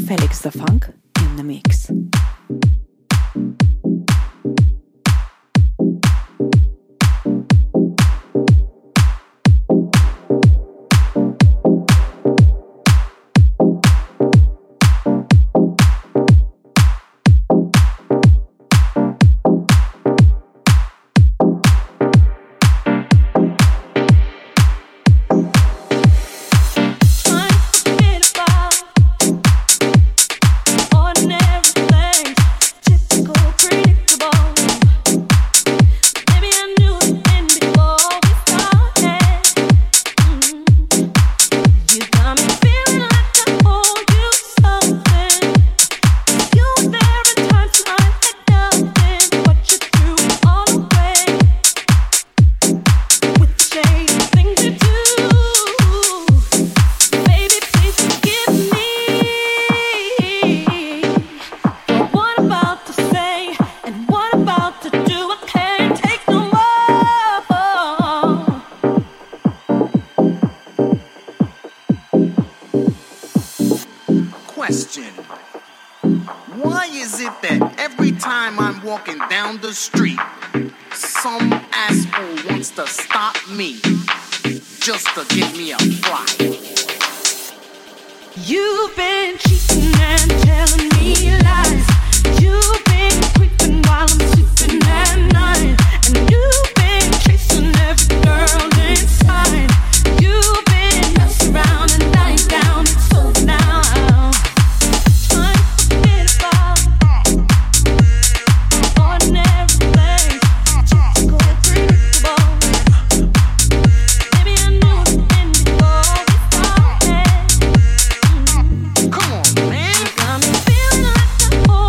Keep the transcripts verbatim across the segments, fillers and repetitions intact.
Felix the Funk in the mix. The street, some asshole wants to stop me just to give me a fly. You've been cheating and telling me lies. You've been creeping while I'm sleeping at night, and you've been chasing every girl inside. You've been messing around and lying down. It's over now. Come on, man. Got me feeling like the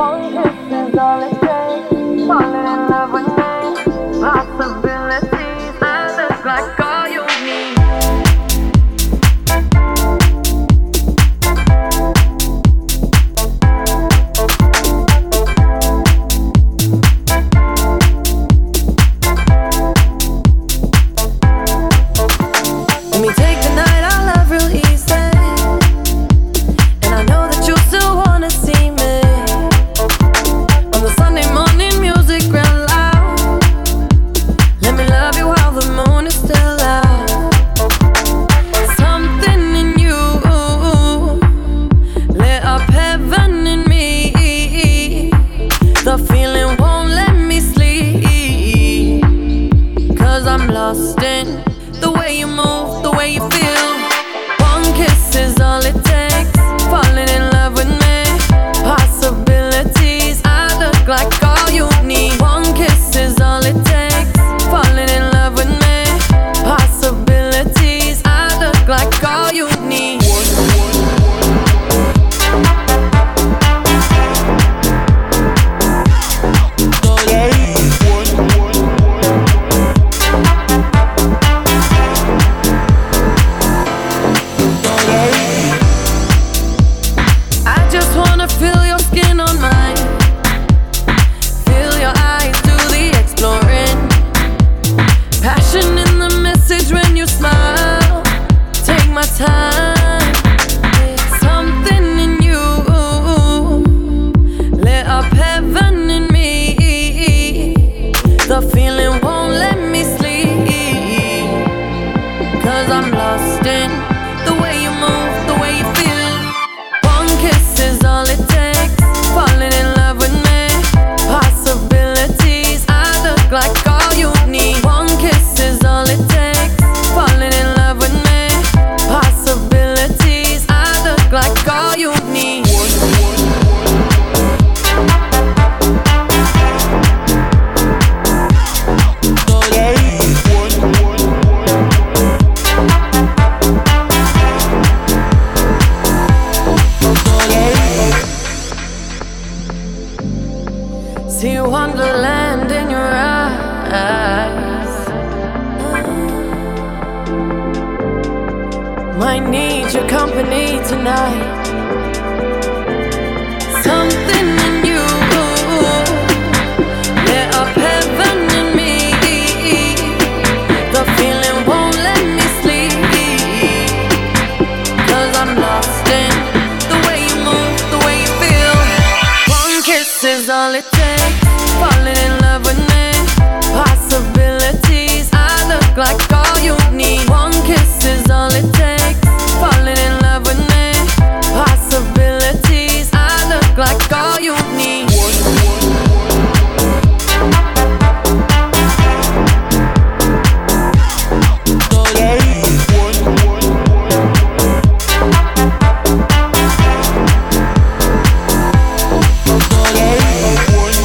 One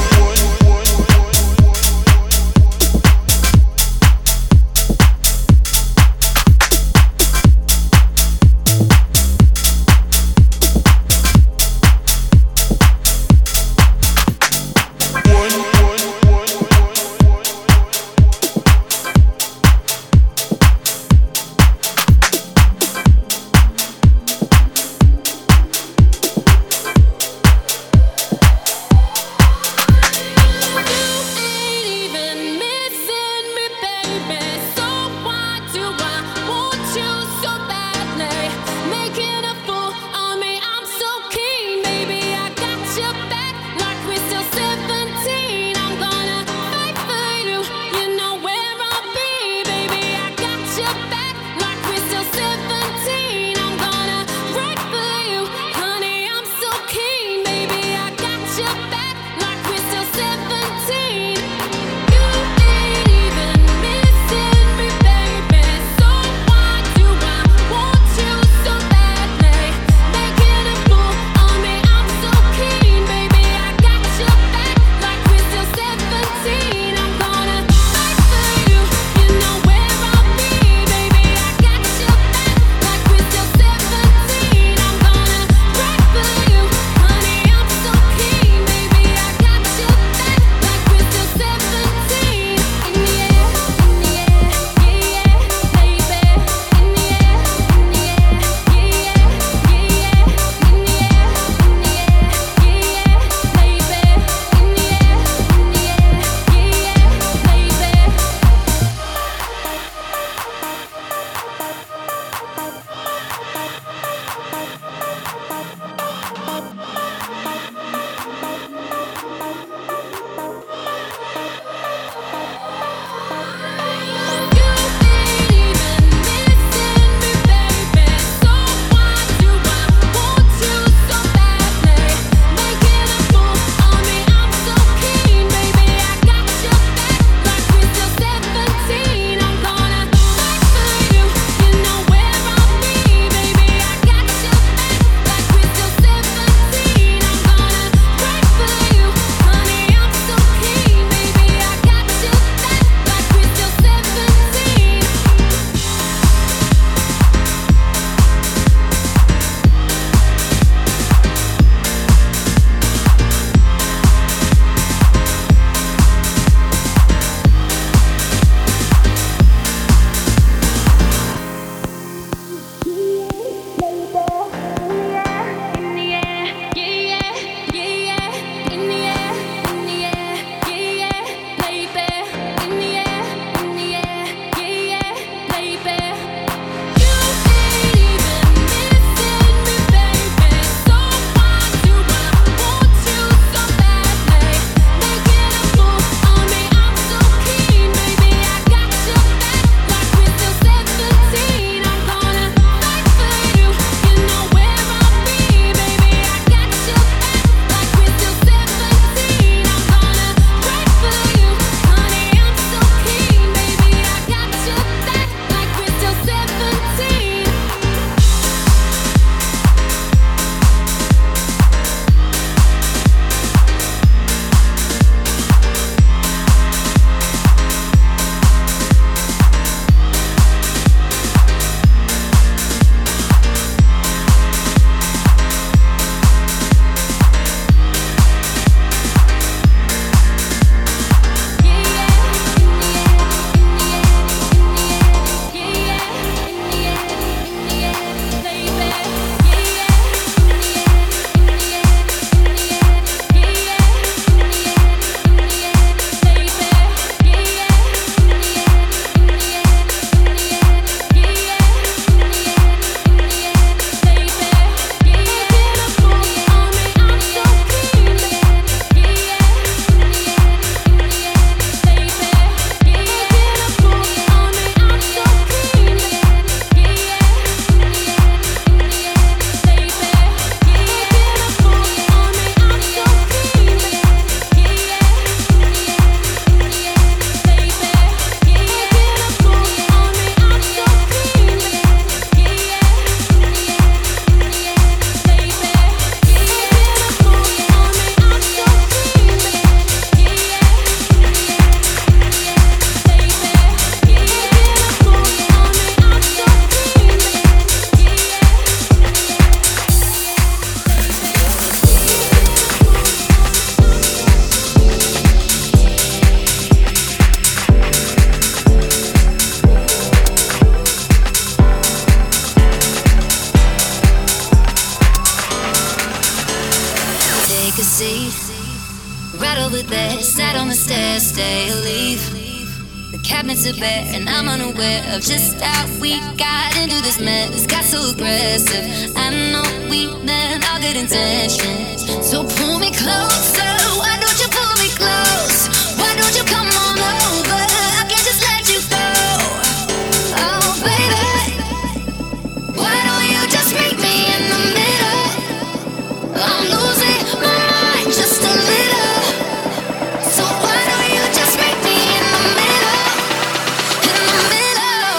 a seat. Right over there, sat on the stairs, stay or leave. The cabinets are bare and I'm unaware of just how we got into this mess. Got so aggressive. I know we meant all good intentions. So pull me closer. Why don't you pull me close? Why don't you come on over? I can't just let you go. Oh baby, why don't you just meet me in the middle? I'm losing my mind just a little. So why don't you just meet me in the middle? In the middle.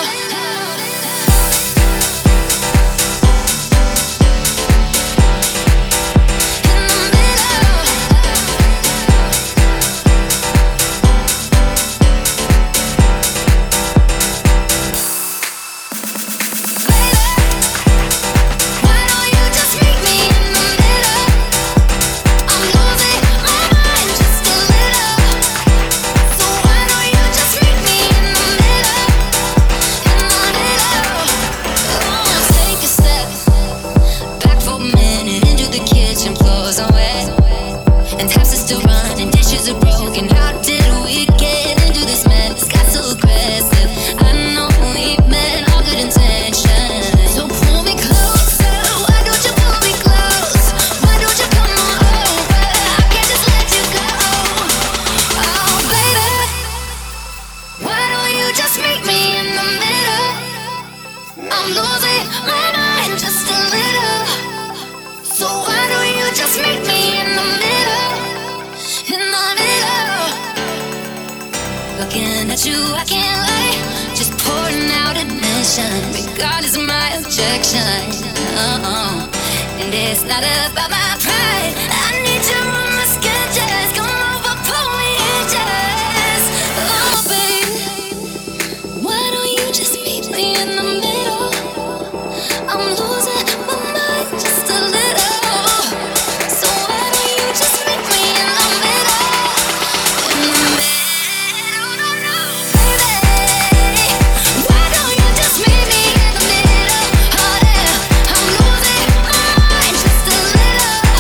In the middle. Regardless of my objection, uh-uh. And it's not about my pride. I need you on my sketches. Come over, pull me in just. Oh, baby, why don't you just meet me in the middle? I'm losing my mind just a little. So why don't you just meet me in the middle? In the middle, no, no, baby. Why don't you just meet me in the middle? Oh, yeah, I'm losing my mind just a little.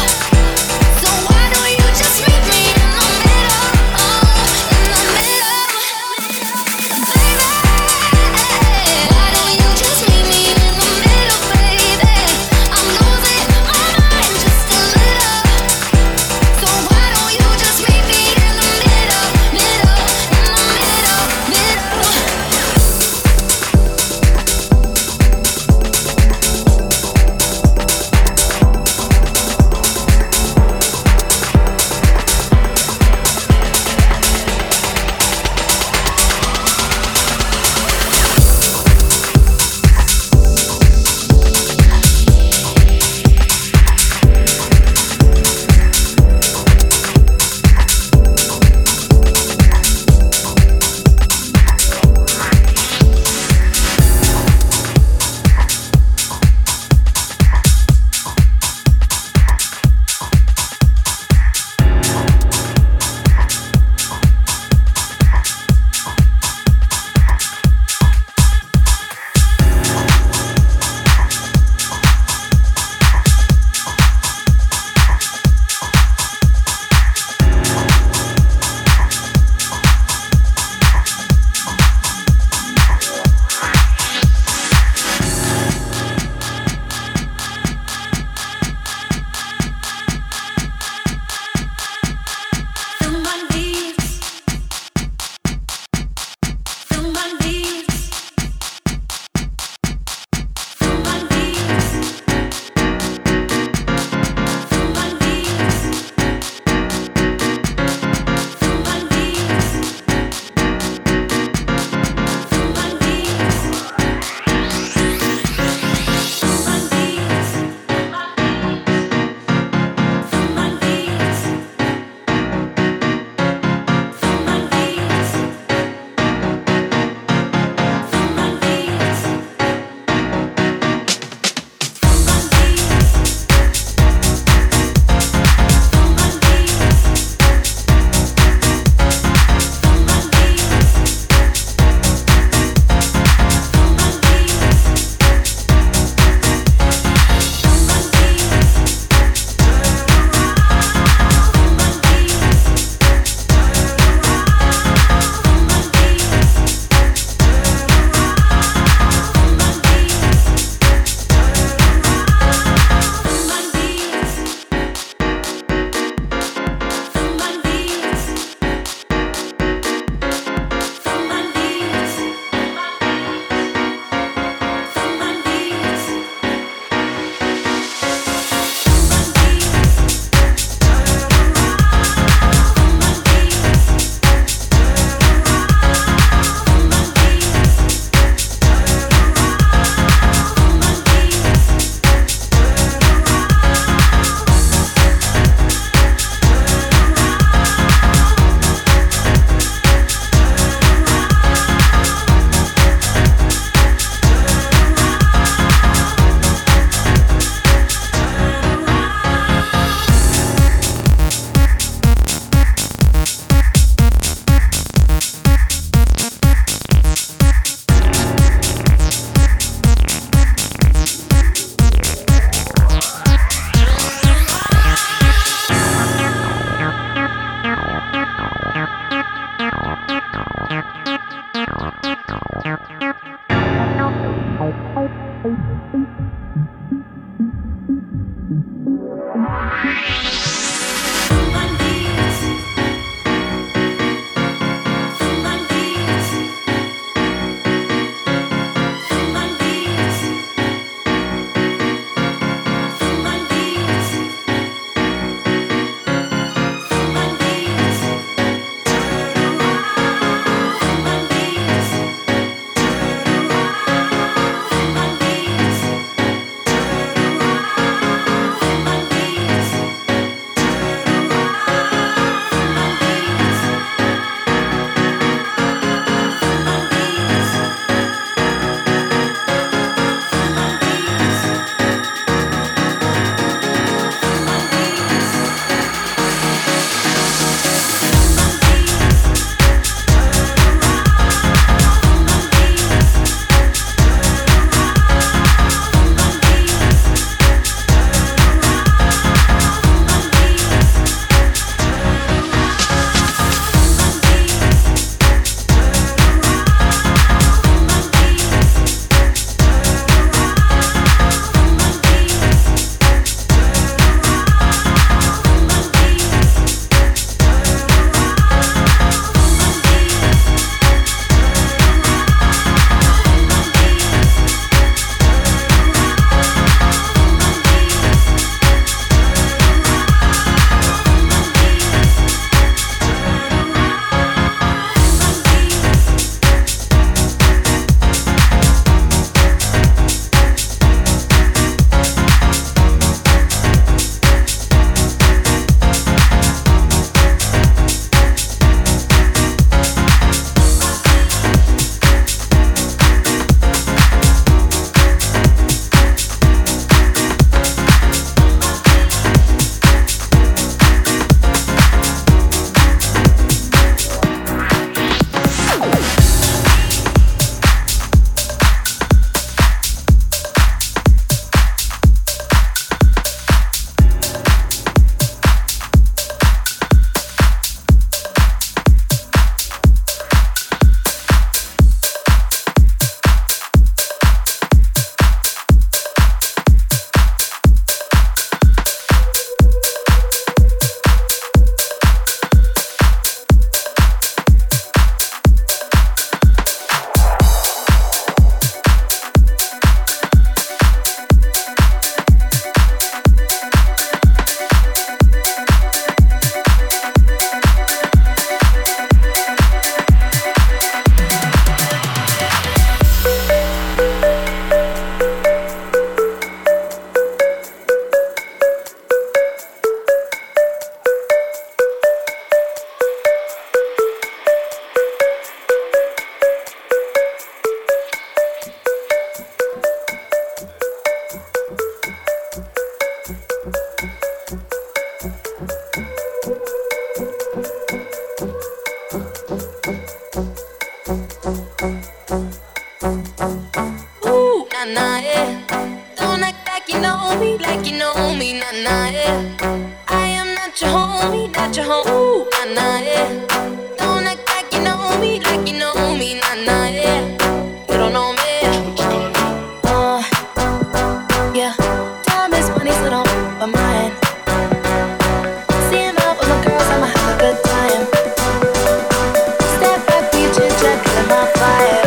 know me, nah nah yeah. I am not your homie, not your homie, nah nah yeah. Don't act like you know me, like you know me, nah nah yeah. You don't know me. Uh, yeah, time is money, so don't put mine. See him out with my girls, I'ma have a good time. Step back, we chit chat, killing my vibe.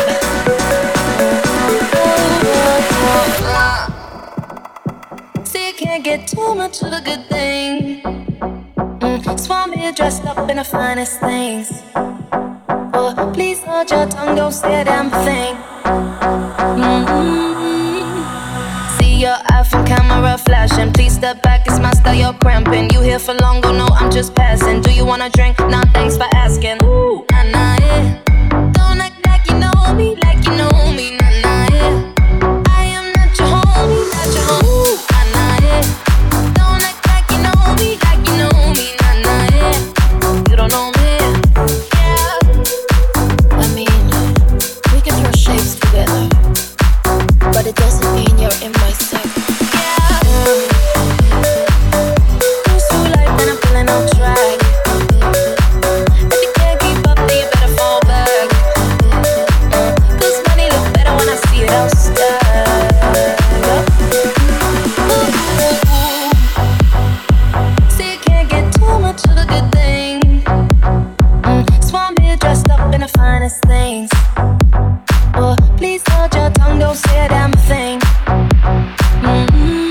See, you can't get too much of a good thing. Mm, Swami dressed up in the finest things. Oh, please hold your tongue, don't say a damn thing. Mm-hmm. See your iPhone camera flashing. Please step back, it's my style, you're cramping. You here for long, go no, I'm just passing. Do you wanna drink? Nah, thanks for asking. Ooh, nah, nah, yeah. Don't act like you know me, like you know me, nah, nah, yeah. I am not your homie, not your homie, nah, nah, yeah. Don't act like you know me, like you know me, nah, nah, yeah. You don't know me, yeah. I mean, we can throw shapes together, but it doesn't mean you're in my circle. Yeah. Who's too light when I'm feeling on track? If you can't keep up, then you better fall back. This money look better when I see it all stacked up. See, you can't get too much of a good thing. Mm, Swami dressed up in the finest things. Oh, please hold your tongue, don't say a damn thing. Mm-hmm.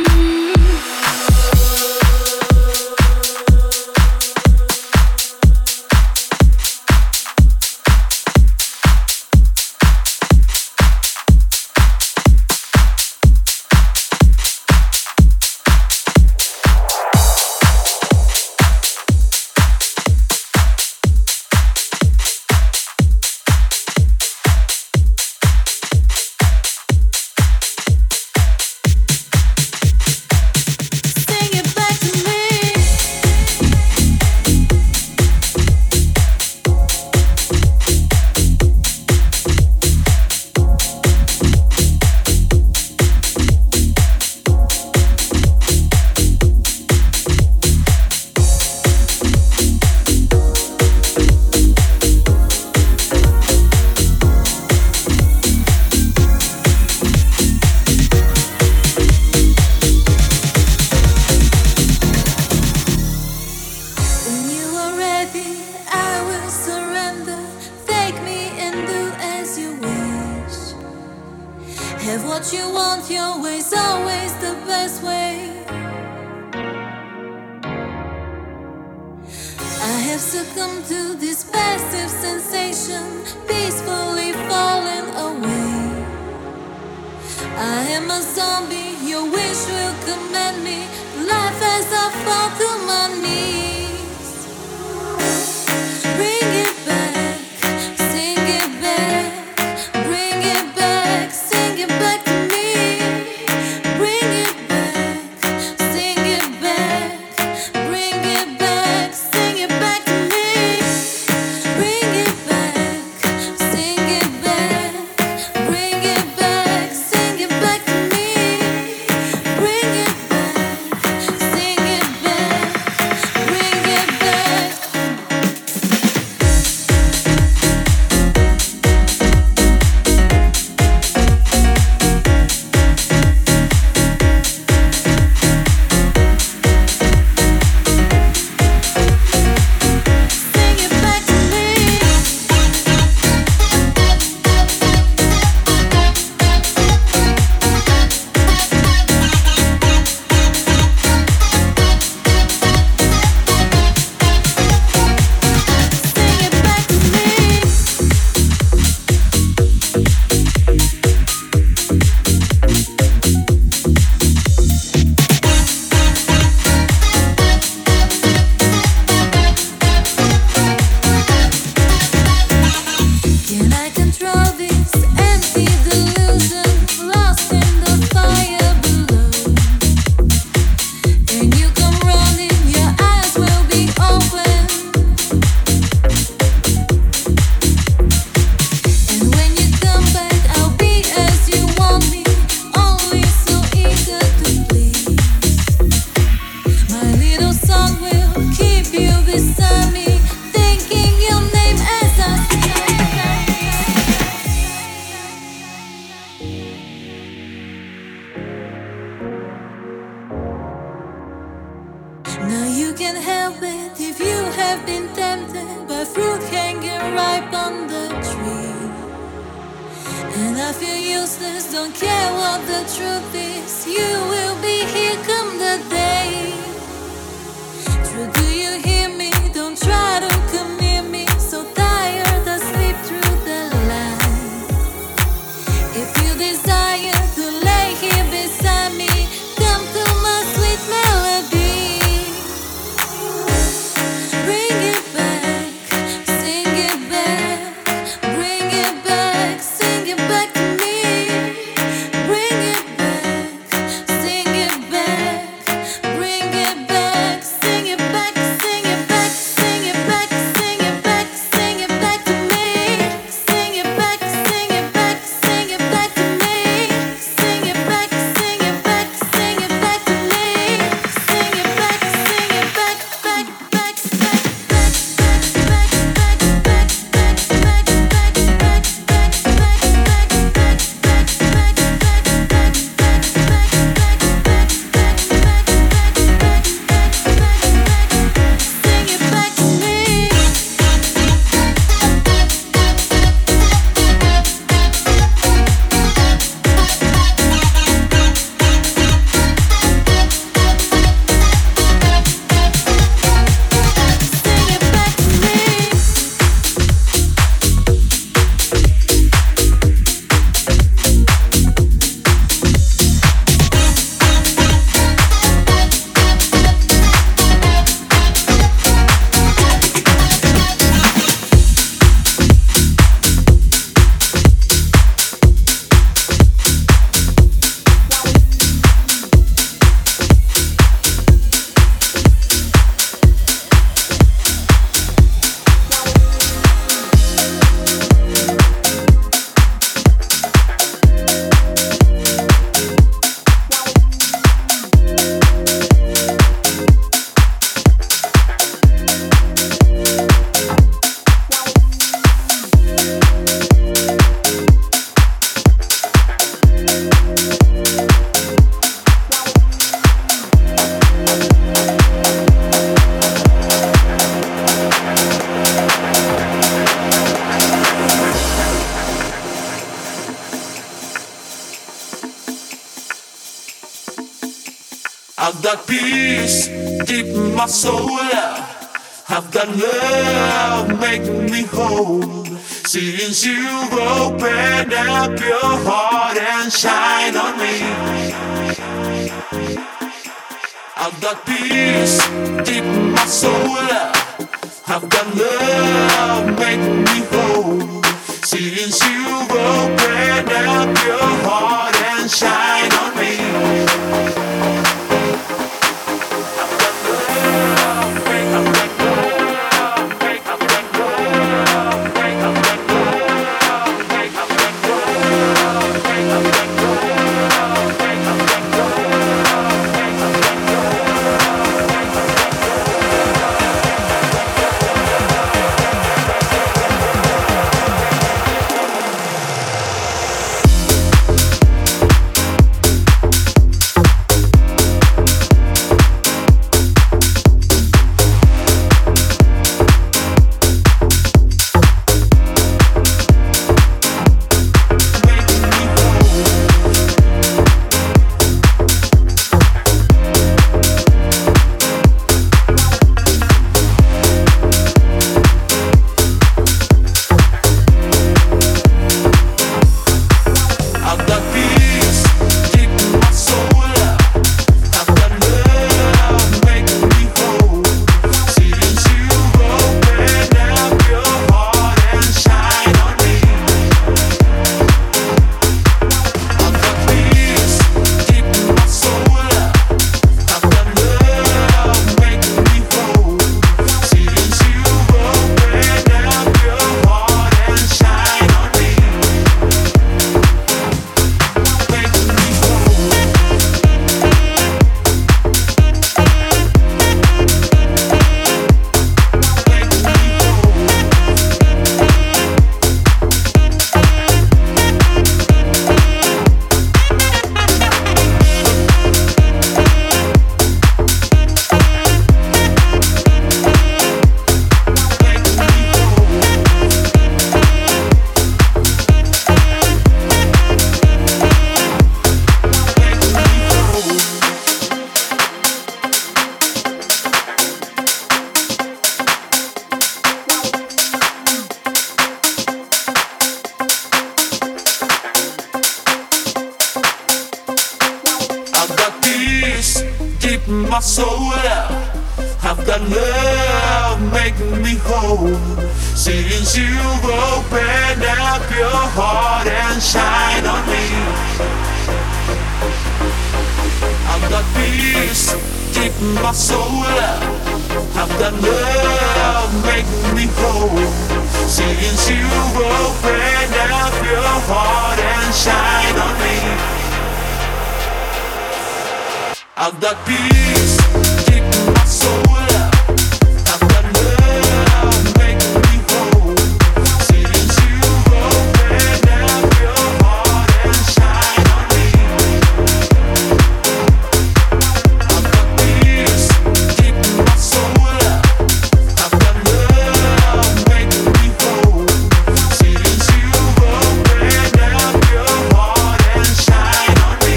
Sing it back to me. When you are ready, I will surrender. Take me and do as you wish. Have what you want, your way's always the best way. I have succumbed to this passive sensation, peacefully falling away. I am a zombie, your wish will command me. Life as I fall to my knees. Bring it back, sing it back. Bring it back, sing it back to me. Bring it back, sing it back. Bring it back, sing it back to me. Bring it back, sing it back. Bring it back, sing it back to me. Bring it back. can't help it if you have been tempted by fruit hanging ripe on the tree. And I feel useless, don't care what the truth is. You will be here come the day. True, do you hear me? Don't try to come near me. So tired, I sleep through the light. If you desire to lay here beside me, come to my sweet melody. Bring it back, sing it back. Bring it back, sing it back to me. Bring it back, sing it back. Bring it back, sing it back, sing it back, sing it back, sing it back, sing it back to me. Sing it back, sing it back, sing it back to me. Sing it back, sing it back, sing it back to me. Sing it back, sing it back, back, back, back, back, back, back, back, back, back, back, back, sing it back to me. Sing it back to me. I've got peace deep in my soul. I've got love making me whole. Since you've opened up your heart and shine on me, I've got peace deep in my soul. I've got love making me whole. Since you've opened up your heart and shine on me. my soul out. I've got love making me whole. Since you've opened up your heart and shine on me, I've got peace deep in my soul out. I've got love making me whole. Since you've opened up your heart and shine on me, I've got peace deep in my soul out. I've got love making me whole. Since you've opened up your heart and shine on me, I've got peace deep in my soul out. I've got love making me whole. Since you've opened up your heart and shine on me,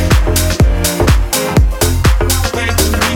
making me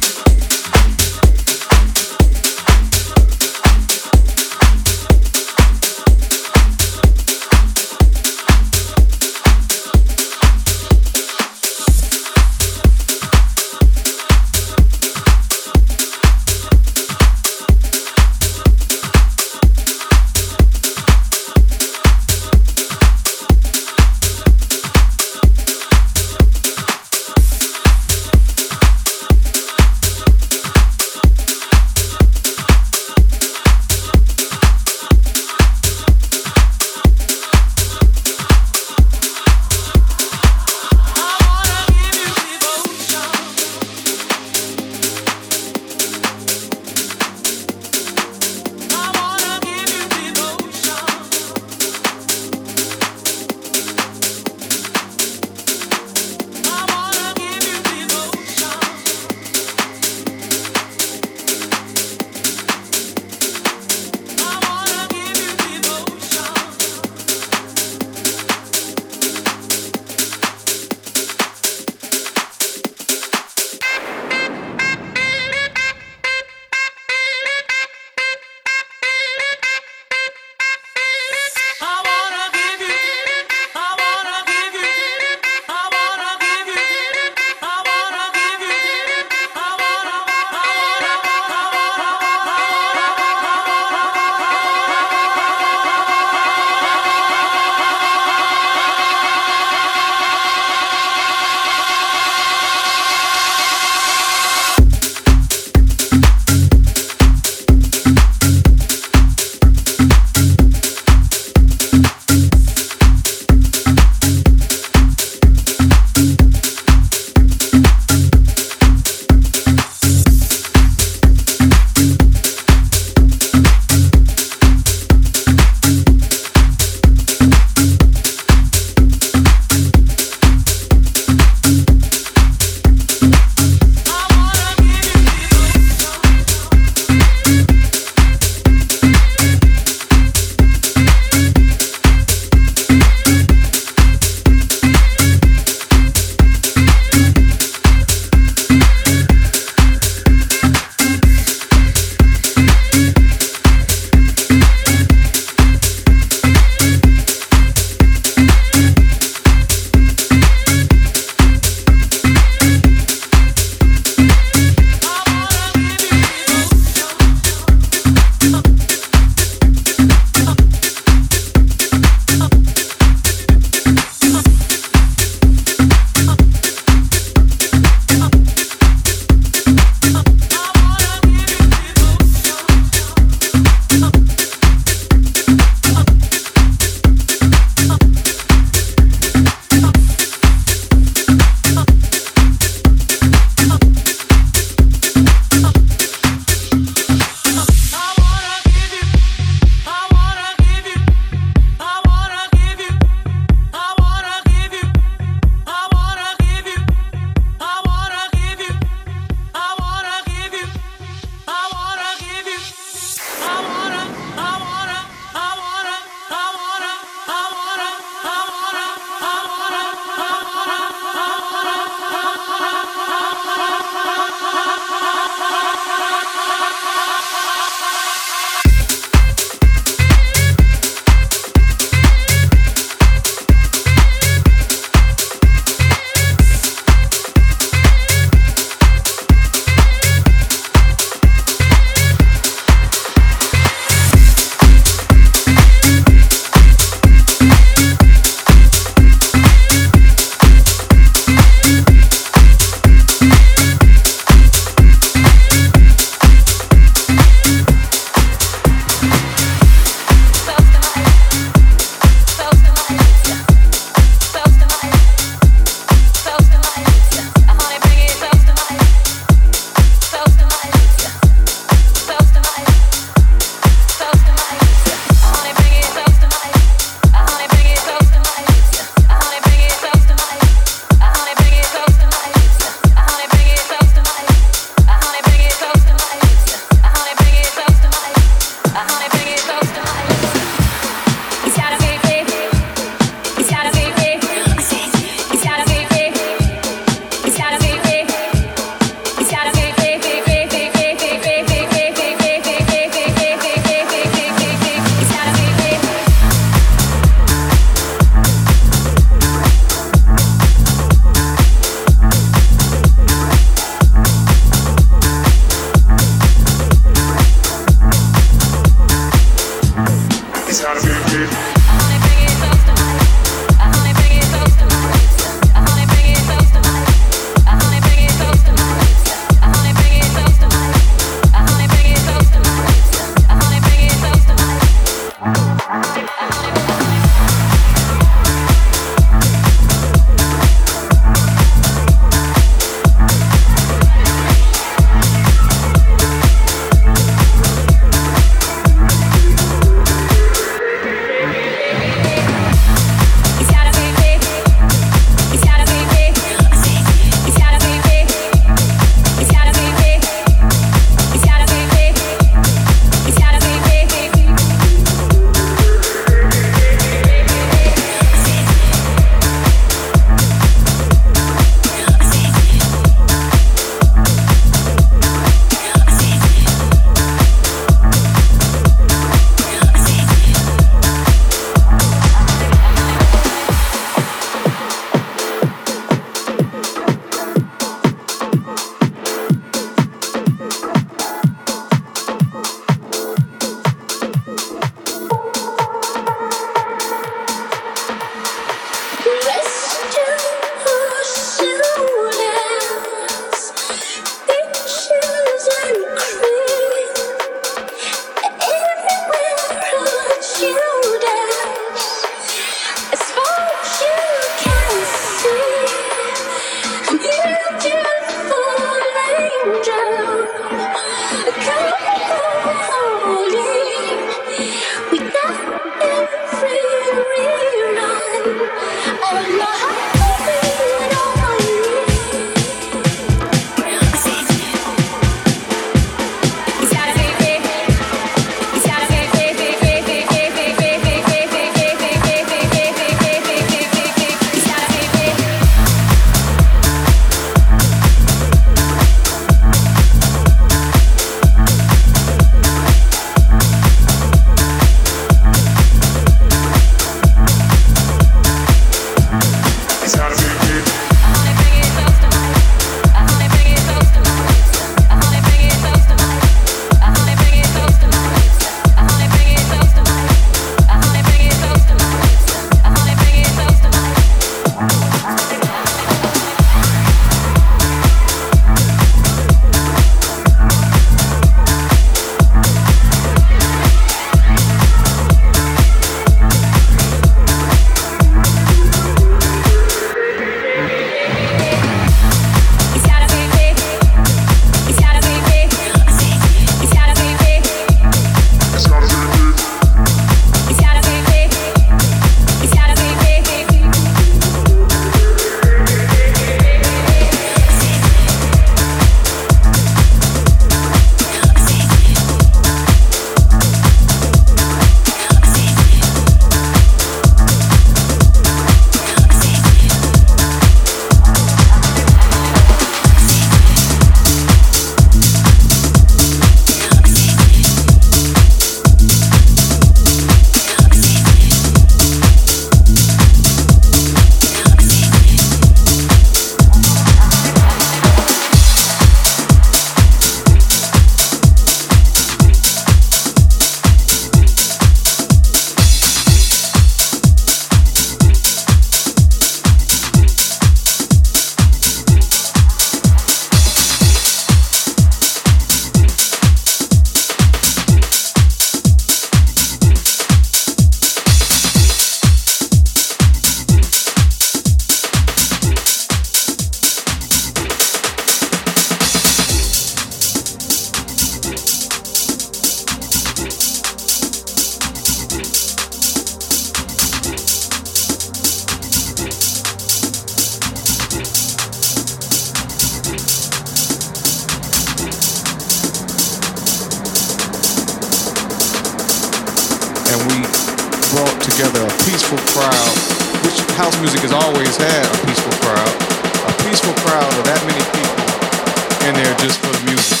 peaceful crowd, which house music has always had a peaceful crowd. A peaceful crowd of that many people in there just for the music.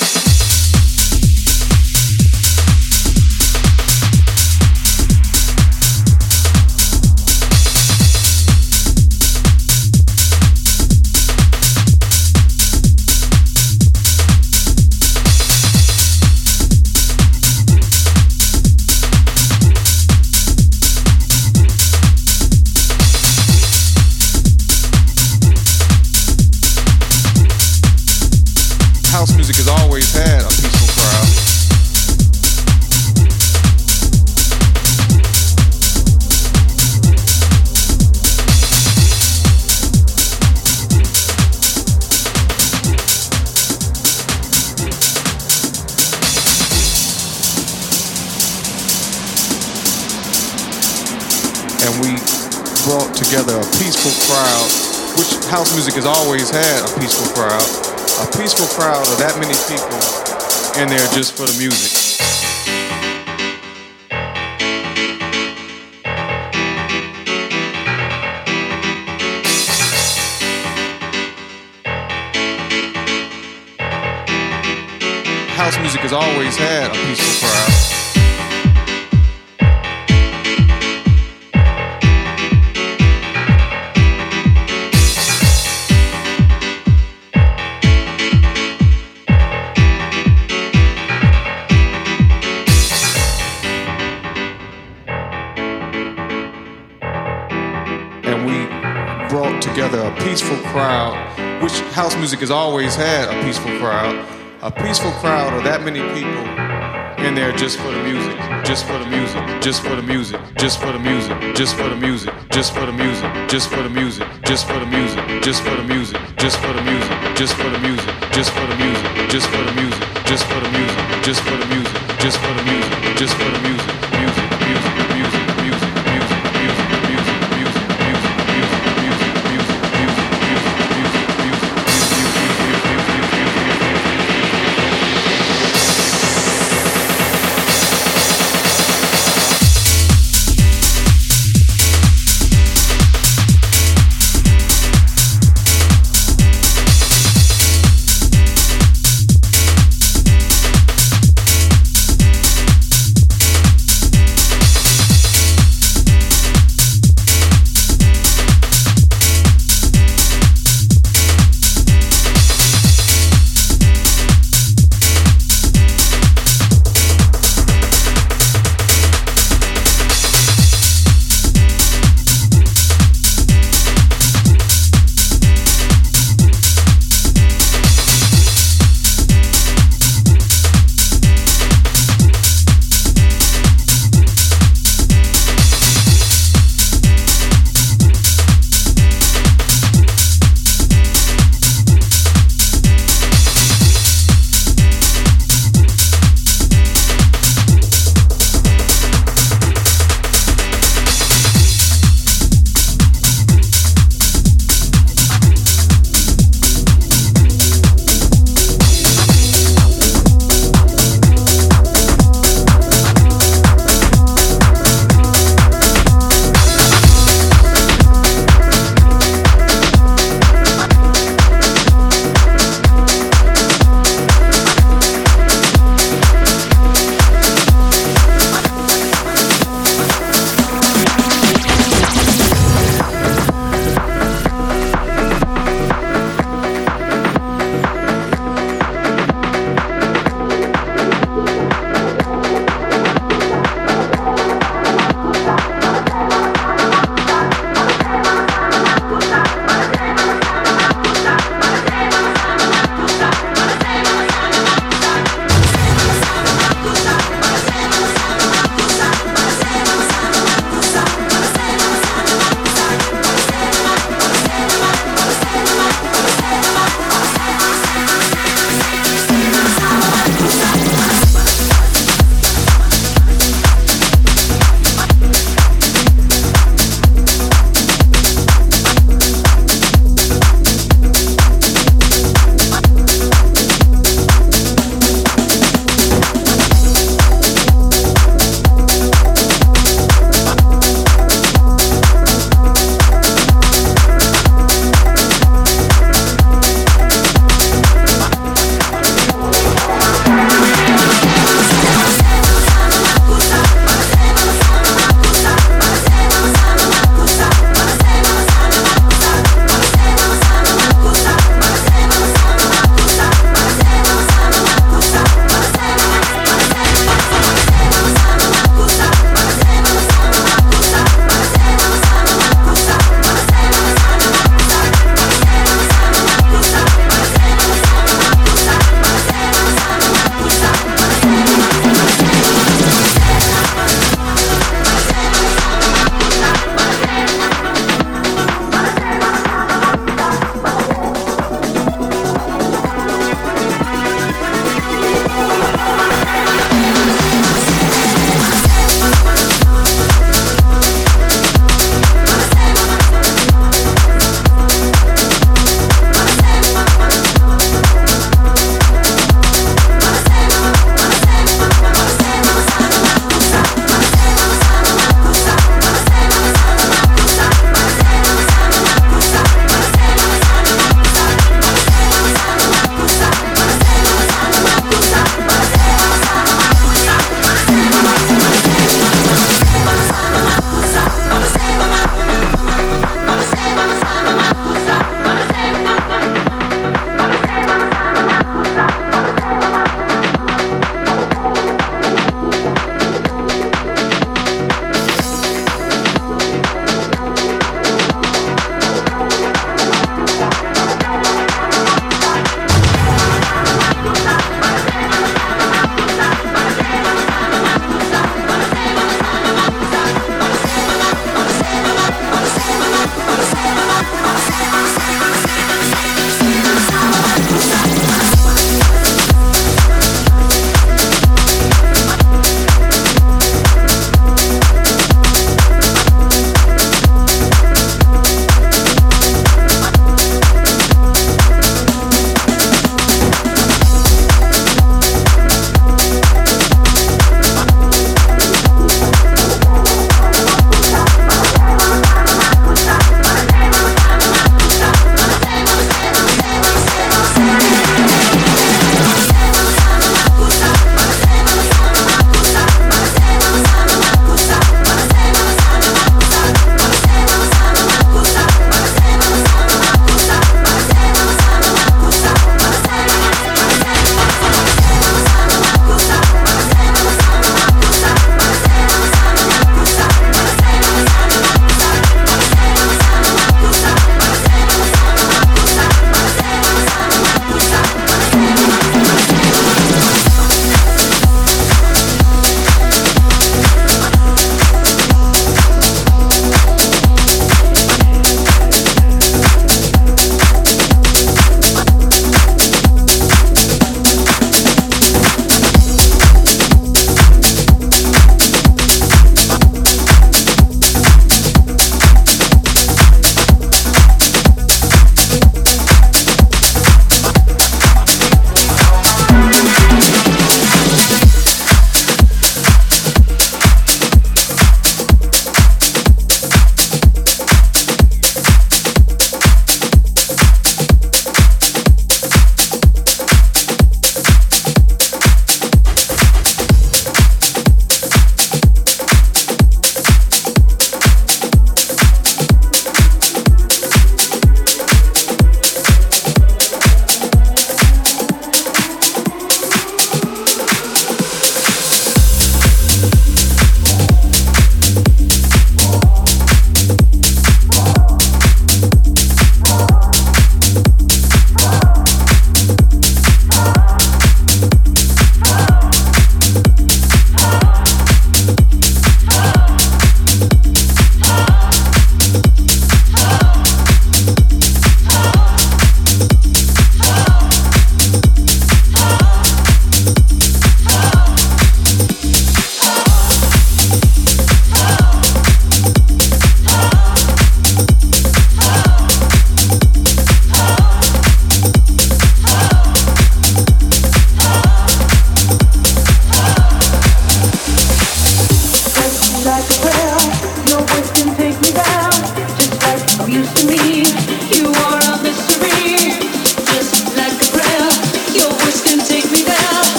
House music has always had a peaceful crowd. And we brought together a peaceful crowd, which house music has always had a peaceful crowd. A peaceful crowd of that many people in there just for the music. House music has always had a peaceful crowd. Together a peaceful crowd, which house music has always had a peaceful crowd. A peaceful crowd of that many people in there just for the music, just for the music, just for the music, just for the music, just for the music, just for the music, just for the music, just for the music, just for the music, just for the music, just for the music, just for the music, just for the music, just for the music, just for the music, just for the music, just for the music, music, music, music, music, music, music, music, music,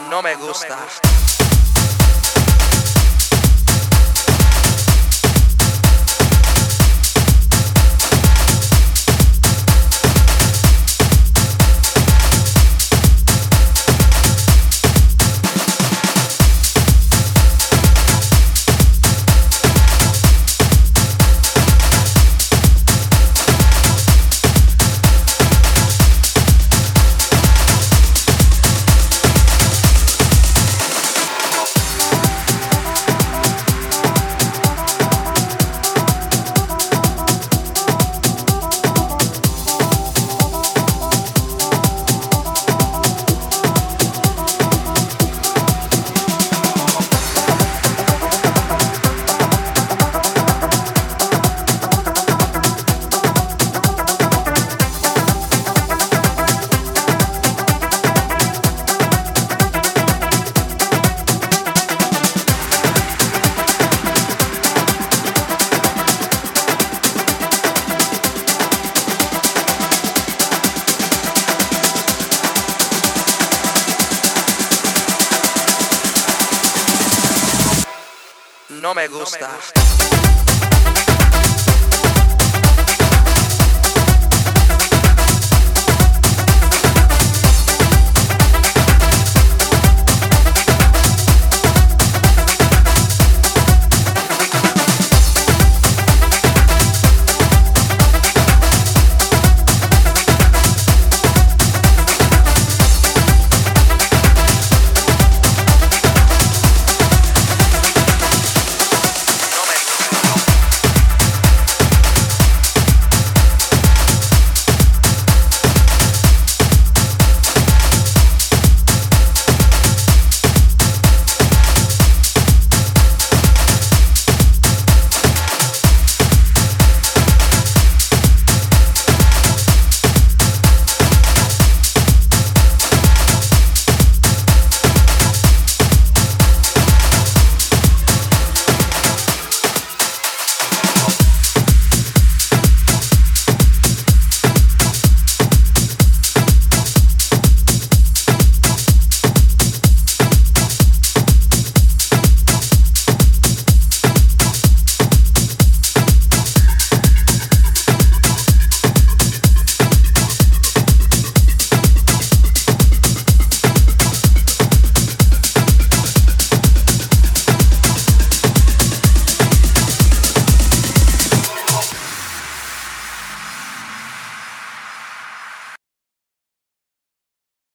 No me gusta. No me gusta.